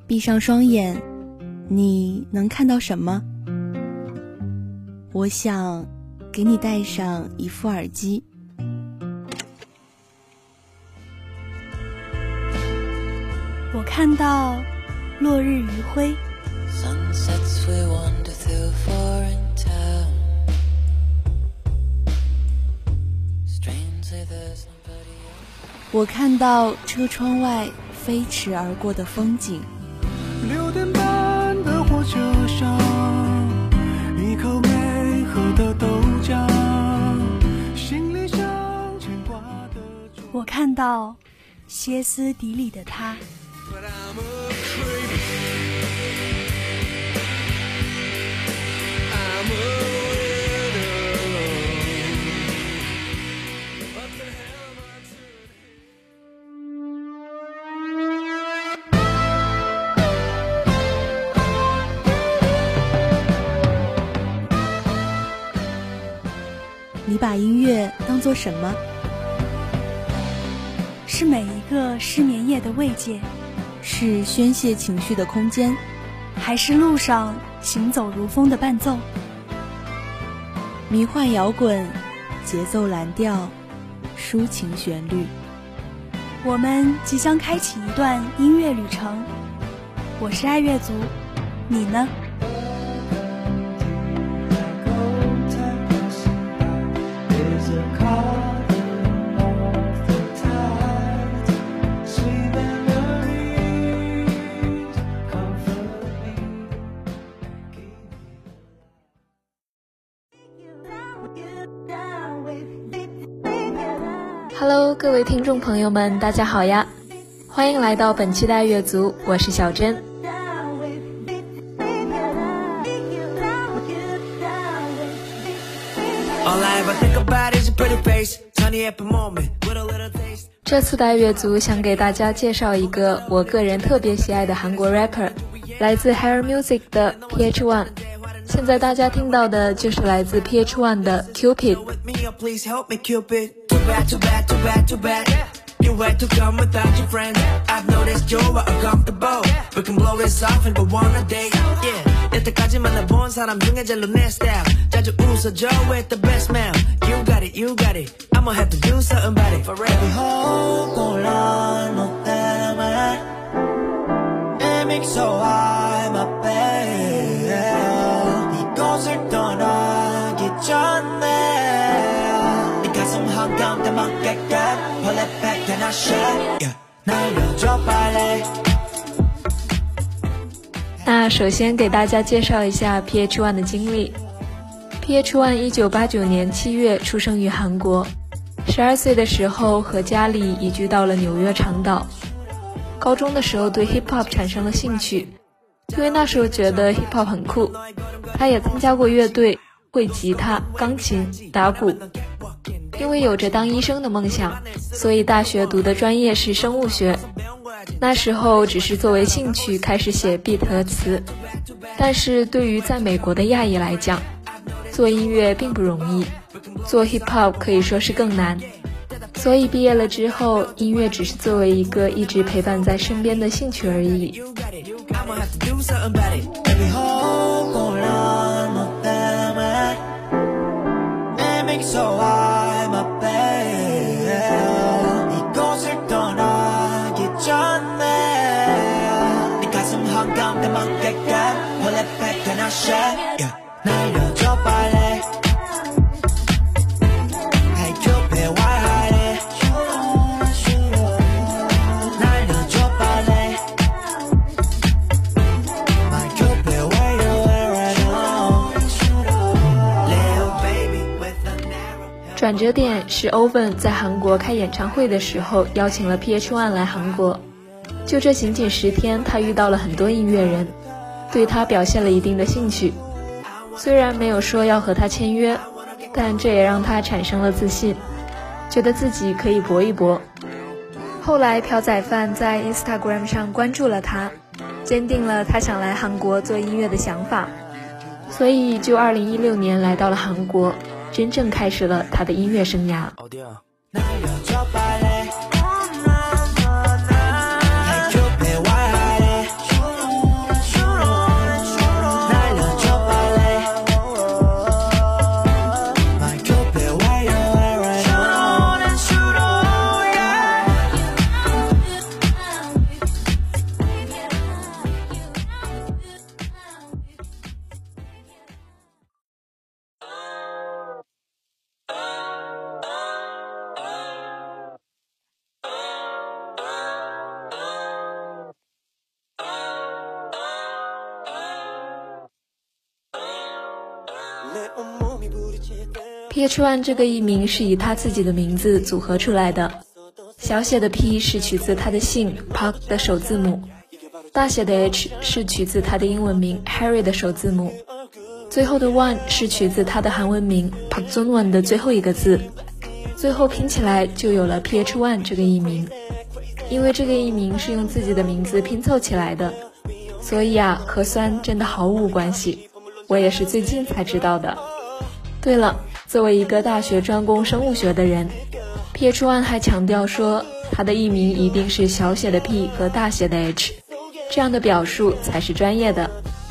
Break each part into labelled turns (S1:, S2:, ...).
S1: 闭上双眼，你能看到什么？我想给你戴上一副耳机。
S2: 我看到落日余晖，
S1: 我看到车窗外飞驰而过的风景。
S3: 6点半的火车上，一口没喝的豆浆，心里想牵挂的。
S2: 我看到歇斯底里的他。
S1: 你把音乐当作什么？
S2: 是每一个失眠夜的慰藉，
S1: 是宣泄情绪的空间，
S2: 还是路上行走如风的伴奏？
S1: 迷幻摇滚，节奏蓝调，抒情旋律。
S2: 我们即将开启一段音乐旅程。我是爱乐族，你呢？
S4: Hello， 各位听众朋友们，大家好呀！欢迎来到本期的爱乐族，我是小珍。这次的爱乐族想给大家介绍一个我个人特别喜爱的韩国 rapper， 来自 Hair Music 的 PH1。现在大家听到的就是来自 PH1 的 Cupid。You had to come without your friends. I've noticed you're uncomfortable. We can blow this off and go on a date. Yeah, 여태까지 만나본 사람 중에 제일 내 style. 자주 웃어줘 with the best man. You got it, you got it. I'ma have to do something about it. Forever hold on, 너 때문에. Aiming so high, my babe. 이곳을 떠나기 전에. 네 가슴 한가운데 막게끔. Pull it back and I share. Yeah, 날려줘 빨리. 那首先给大家介绍一下 PH1 的经历。PH1 1989年7月出生于韩国，12岁的时候和家里移居到了纽约长岛。高中的时候对 hip hop 产生了兴趣，因为那时候觉得 hip hop 很酷。他也参加过乐队，会吉他、钢琴、打鼓。因为有着当医生的梦想，所以大学读的专业是生物学。那时候只是作为兴趣开始写 beat 和词，但是对于在美国的亚裔来讲，做音乐并不容易，做 hip hop 可以说是更难。所以毕业了之后，音乐只是作为一个一直陪伴在身边的兴趣而已。转折点是 Owen 在韩国开演唱会的时候邀请了 PH1 来韩国，就这仅仅10天，他遇到了很多音乐人，对他表现了一定的兴趣。虽然没有说要和他签约，但这也让他产生了自信，觉得自己可以搏一搏。后来朴宰范在 Instagram 上关注了他，坚定了他想来韩国做音乐的想法，所以就2016年来到了韩国，真正开始了他的音乐生涯。 PH1 这个艺名是以他自己的名字组合出来的，小写的 P 是取自他的姓 Park 的首字母，大写的 H 是取自他的英文名 Harry 的首字母，最后的 One 是取自他的韩文名 Park Jong-won 的最后一个字，最后拼起来就有了 PH1 这个艺名。因为这个艺名是用自己的名字拼凑起来的，所以啊，和酸真的毫无关系，我也是最近才知道的。对了，作为一个大学专攻生物学的人， PH1 还强调说他的艺名一定是小写的 P 和大写的 H， 这样的表述才是专业的。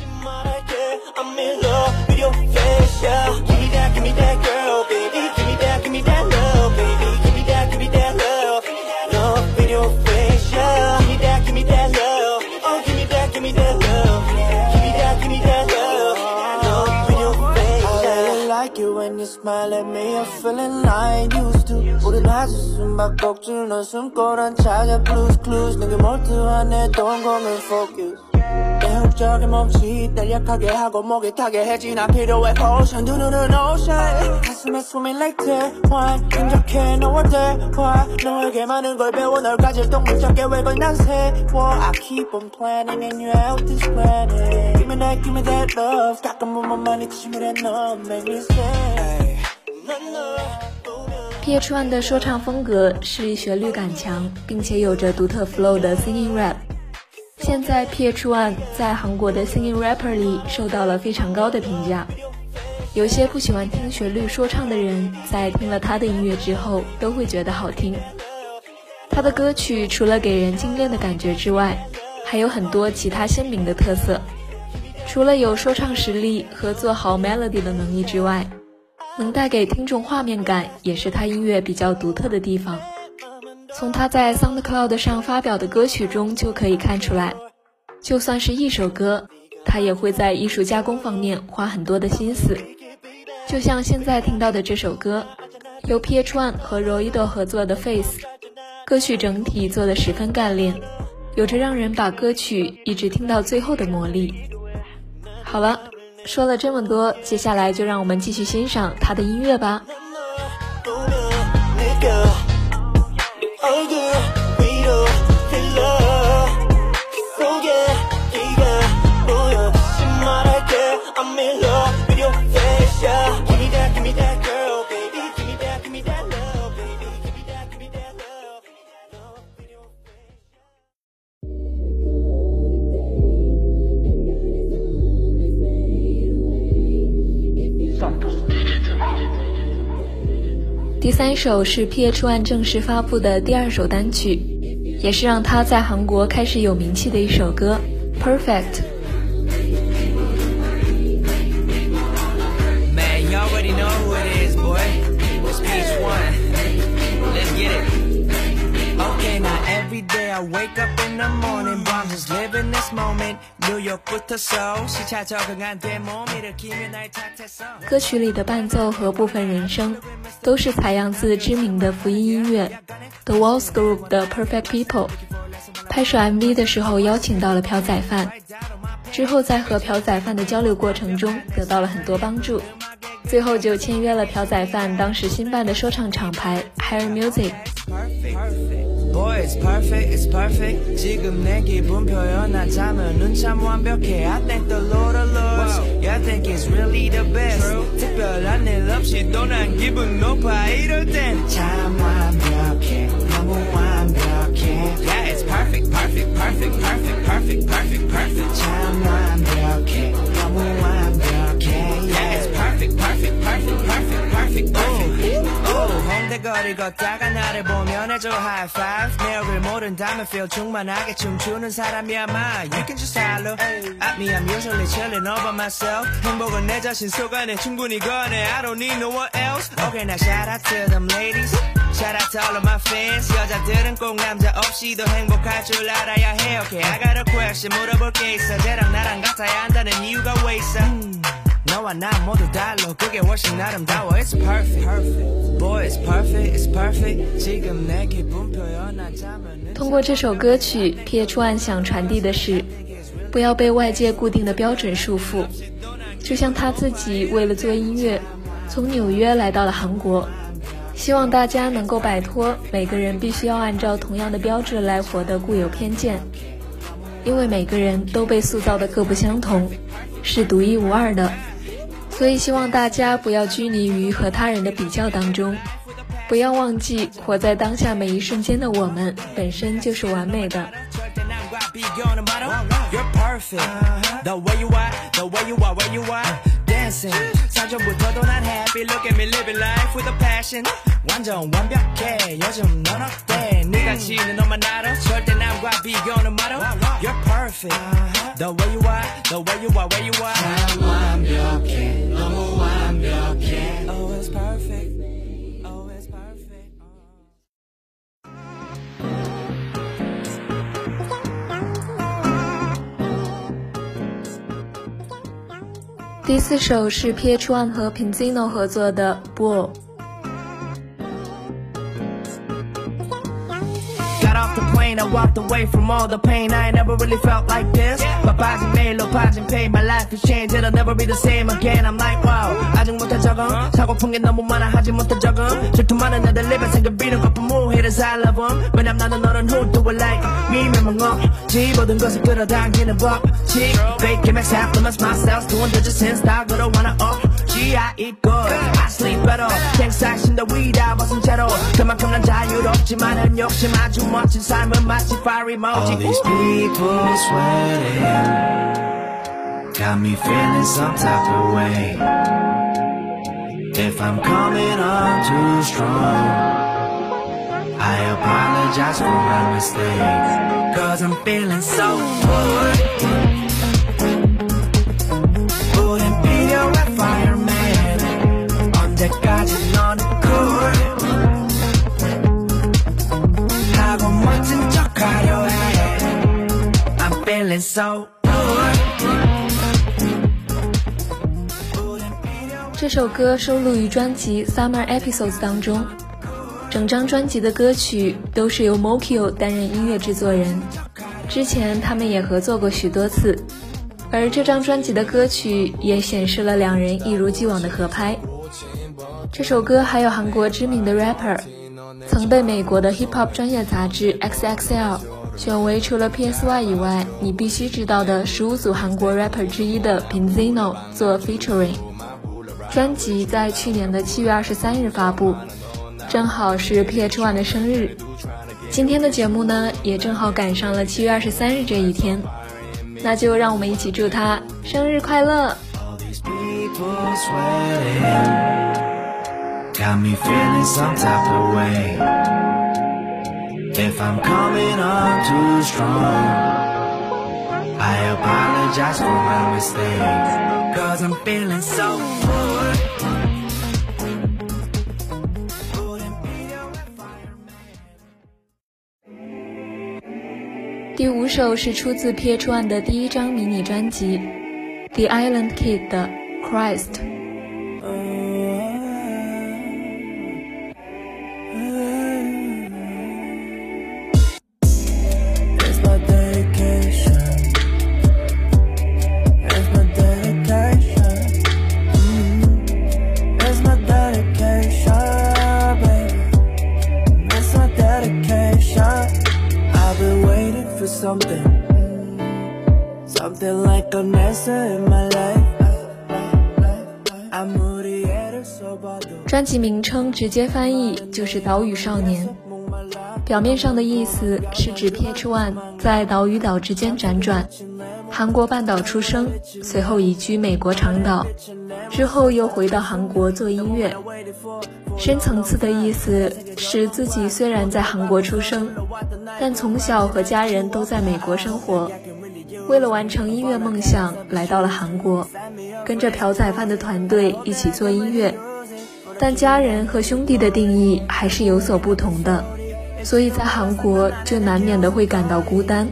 S3: When you smile at me, I'm feeling like used to. 우린 아주 숨바꼭질 넌 숨고란 찾아 blues clues. 내게 몰두하네 don't come and focus. 내 훅적에 멈칫 달약하게 하고 목이 타게 해지 난 필요해 potion 두 눈은 ocean. 가슴에 숨이 like 대환 진작해 너와 대화 너에게 많은 걸 배워 널 가질 동물적 계획을 난 세워. I keep on planning and you out this planet. Give me that love. 가끔 보면 많이 치밀해 너 make me say.
S4: PH1 的说唱风格是旋律感强，并且有着独特 flow 的 singing rap。现在 PH1 在韩国的 singing rapper 里受到了非常高的评价。有些不喜欢听旋律说唱的人，在听了他的音乐之后，都会觉得好听。他的歌曲除了给人精炼的感觉之外，还有很多其他鲜明的特色。除了有说唱实力和做好 melody 的能力之外，能带给听众画面感也是他音乐比较独特的地方。从他在 SoundCloud 上发表的歌曲中就可以看出来，就算是一首歌，他也会在艺术加工方面花很多的心思。就像现在听到的这首歌，由 PH1 和 Roido 合作的 Face， 歌曲整体做得十分干练，有着让人把歌曲一直听到最后的魔力。好了，说了这么多，接下来就让我们继续欣赏他的音乐吧。第三首是 PH1 正式发布的第二首单曲，也是让他在韩国开始有名气的一首歌 Perfect。
S5: Man, you already know who it is, boy. It's PH1. Let's get it. Okay, now every day I wake up in the morning, but I'm just living this moment. New York부터 서울, 시차 적응한 내 몸 일으키며 날 탓했어.
S4: 歌曲里的伴奏和部分人声都是采样自知名的福音音乐 The Walls Group 的 Perfect People。 拍摄 MV 的时候邀请到了朴宰范，之后在和朴宰范的交流过程中得到了很多帮助，最后就签约了朴宰范当时新办的说唱厂牌 Hair Music。
S5: Boy, it's perfect. 지금 내 기분 표현하자면 넌 참 완벽해. I thank the Lord, Yeah, I think it's really the best. 특별한 일 없이도 난 기분 높아. 이럴 땐 참 완벽해. 너무 완벽해. Yeah, it's perfect. 참 완벽해. 너무 완벽해. Yeah, it's perfect. 홍대거리 걷다가 나를 보면 해줘 high five. 내 얼굴 모른다면 feel 충만하게 춤추는 사람이야 마. You can just holler at me. I'm usually chilling all by myself. 행복은 내 자신 속 안에 충분히 거네. I don't need no one else. Okay, now shout out to them ladies. Shout out to all of my fans. 여자들은 꼭 남자 없이도 행복할 줄 알아야 해. Okay, I got a question 물어볼 게 있어. 쟤랑 나랑 같아야 한다는 이유가 왜 있어? 너와 나 모두 달라. 그게 훨씬 아름다워. It's perfect. Boy, it's perfect. 지금 내 기분 표현하자면
S4: 通过这首歌曲 PH1 想传递的是不要被外界固定的标准束缚，就像他自己为了做音乐从纽约来到了韩国，希望大家能够摆脱每个人必须要按照同样的标志来活的固有偏见，因为每个人都被塑造的各不相同，是独一无二的，所以希望大家不要拘泥于和他人的比较当中，不要忘记活在当下每一瞬间的我们本身就是完美的。
S5: You're perfect. The way you are, the way you are, where you are. Dancing. 사전부터도 난 happy. Look at me living life with a passion. 완전 완벽해. 요즘 넌 어때? 네가 지는 너만 알아. 절대 남과 비교는 말아. You're perfect. The way you are, the way you are, where you are. 난 완벽해. 너무 완벽해. Oh, it's perfect. Oh, it's perfect.
S4: 第4首是 PH1 和 Pinzino 合作的 Bull。
S5: Got off the plane, I walked away from all the pain. I ain't never really felt like this. My body made, low body pain. My life has changed, it'll never be the same again. I'm like, wow, 아직 못해 적응. 사고픈 게 너무 많아, 하지 못해 적응. 질투 많은 애들 입에 생겨비는 거품 모 haters I love them. 왜냐면 나는 너는 who do it like me. 멤망없지 모든 것을 끌어당기는 법칙. Fake max half of myself doing the just since 다 걸어와나 I eat good, I sleep better. 갱사신 더 위다 벗은 채로 그만큼 난 자유롭지만 난 욕심 아주 멋진 삶은 마치 fire emoji. All these people sweating got me feeling some type of way. If I'm coming on too strong, I apologize for my mistakes, cause I'm feeling so good. 우린 필요한 fireman. 언제까지 너는 cool 하고 멋진 척하려 해. I'm feeling so good.
S4: 这首歌收录于专辑 Summer Episodes 当中，整张专辑的歌曲都是由 Mokyo 担任音乐制作人，之前他们也合作过许多次，而这张专辑的歌曲也显示了两人一如既往的合拍。这首歌还有韩国知名的 rapper， 曾被美国的 hip hop 专业杂志 XXL 选为除了 PSY 以外你必须知道的15组韩国 rapper 之一的 Pinzino 做 featuring。 专辑在去年的7月23日发布，正好是 PH1 的生日。今天的节目呢，也正好赶上了7月23日这一天，那就让我们一起祝他生日快乐。
S5: Got me feeling some type of way. If I'm coming on too strong, I apologize for my mistakes, cause I'm feeling so good.
S4: 第5首是出自 PH1 的第1张迷你专辑 The Island Kid 的 Christ。
S3: Something like an answer in my life. I'm moody, so bad.
S4: 专辑名称直接翻译就是岛屿少年，表面上的意思是指 PH1 在岛与岛之间辗转，韩国半岛出生，随后移居美国长岛，之后又回到韩国做音乐。深层次的意思是自己虽然在韩国出生，但从小和家人都在美国生活，为了完成音乐梦想来到了韩国，跟着朴宰范的团队一起做音乐，但家人和兄弟的定义还是有所不同的，所以在韓國就難免的會感到孤單。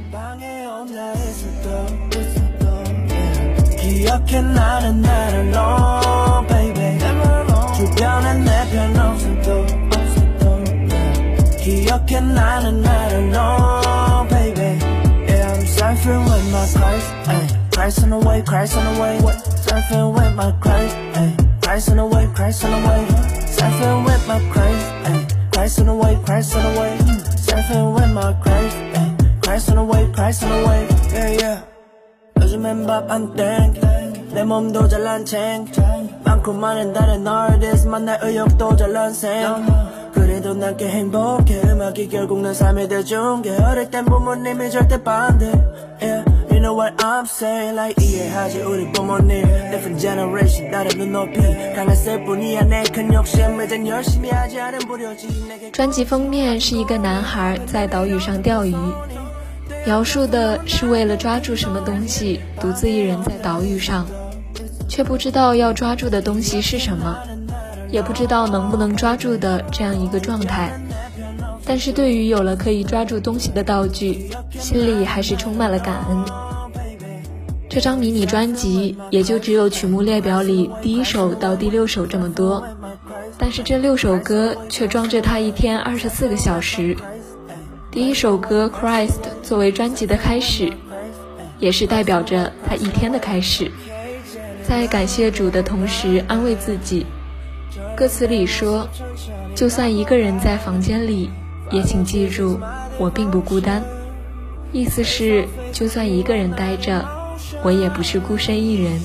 S3: Surfing with my Christ, ayy. Christ on the way, Christ on the way. Surfing with my Christ, ayy. Christ on the way, Christ on the way. Surfing with my Christ, ay. Christ on the way, Christ on the way. Surfing with my Christ, ay. Christ on the way, Christ on the way. Yeah, yeah. 요즘엔 밥 안 땡. 내 몸도 잘난 챙. 많고 많은 다른 artist 만날 의욕도 잘난 생. 그래도 난 꽤 행복해. 음악이 결국 내 삶의 대중계. 어릴 땐 부모님이 절대 반대. Yeah, you know what I'm saying. Like 이해하지 우리 부모님. Different generation 다른 눈높이. 강했을 뿐이야 내 큰 욕심. 이젠 열심히 하지 않은 불효지.
S4: 专辑封面是一个男孩在岛屿上钓鱼，描述的是为了抓住什么东西，独自一人在岛屿上，却不知道要抓住的东西是什么，也不知道能不能抓住的这样一个状态。但是对于有了可以抓住东西的道具，心里还是充满了感恩。这张迷你专辑也就只有曲目列表里第1首到第6首这么多，但是这6首歌却装着他一天24个小时。第1首歌 Christ 作为专辑的开始，也是代表着他一天的开始。在感谢主的同时安慰自己，歌词里说，就算一个人在房间里，也请记住我并不孤单。意思是就算一个人待着，我也不是孤身一人。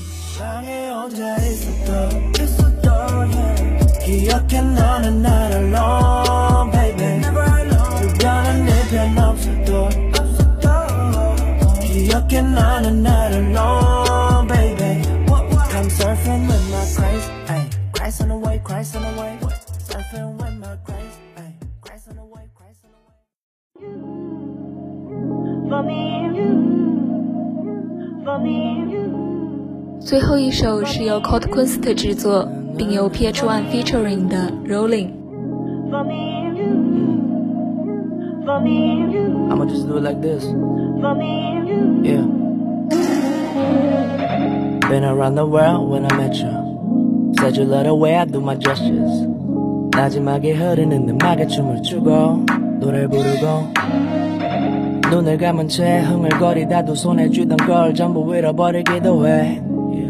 S3: Surfing with my Christ, ay. Christ on the way, Christ on the way. Surfing with my Christ, ay. Christ on the way, Christ on the way. For me and you, for me and you.
S4: 最后一首是由 Colt Kunst 制作，并由 PH1 featuring 的 Rolling。
S3: For me and you, for me and you. I'ma just do it like this. For me and you. Yeah. Been around the world when I met you. Said you love the way I do my gestures. 마지막에 흐르는 음악에 춤을 추고 노래를 부르고 눈을 감은 채 흥얼거리다 두 손에 쥐던 걸 전부 잃어버리기도 해.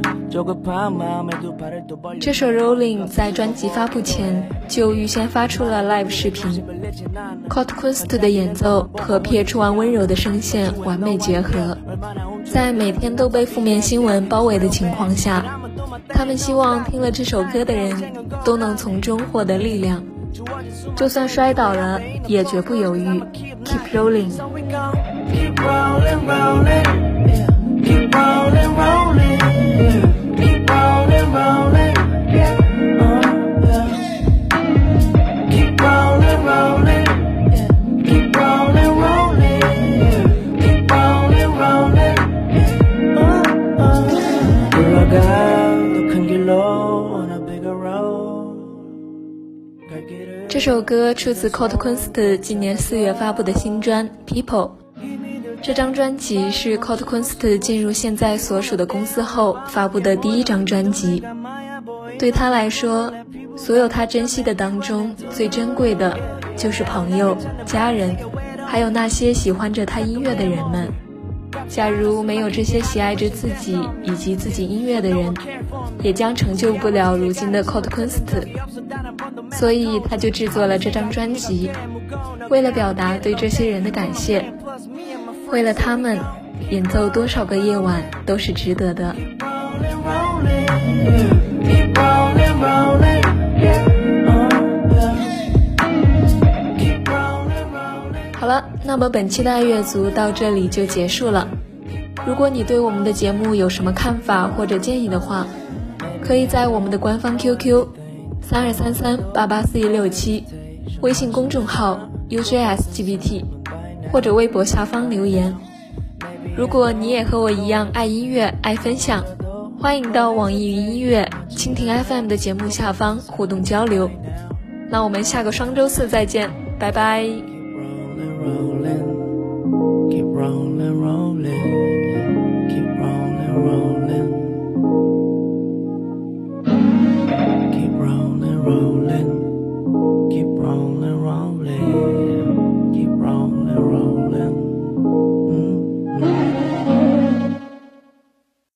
S4: 这首 Rolling 在专辑发布前就预先发出了 live 视频， Colt Kunst 的演奏和 PH1 温柔的声线完美结合。在每天都被负面新闻包围的情况下，他们希望听了这首歌的人都能从中获得力量，就算摔倒了也绝不犹豫， Keep rolling。
S3: Keep rolling, rolling, yeah. Keep rolling, rolling, yeah. Keep rolling, rolling, yeah. Yeah. Keep rolling, rolling, yeah. Keep rolling, rolling, yeah. Keep rolling, rolling, yeah. 돌아가 더 큰 길로 on a bigger road.
S4: 这首歌出自 Colt Kunst 今年4月发布的新专 People。 这张专辑是 Colt Kunst 进入现在所属的公司后发布的第1张专辑。对他来说，所有他珍惜的当中最珍贵的就是朋友、家人，还有那些喜欢着他音乐的人们。假如没有这些喜爱着自己以及自己音乐的人，也将成就不了如今的 Colt Kunst。 所以他就制作了这张专辑，为了表达对这些人的感谢，为了他们，演奏多少个夜晚都是值得的。好了，那么本期的爱乐族到这里就结束了。如果你对我们的节目有什么看法或者建议的话，可以在我们的官方 QQ 3233884167、微信公众号 UJSGBT 或者微博下方留言。如果你也和我一样爱音乐、爱分享，欢迎到网易云音乐、蜻蜓 FM 的节目下方互动交流。那我们下个双周四再见，拜拜。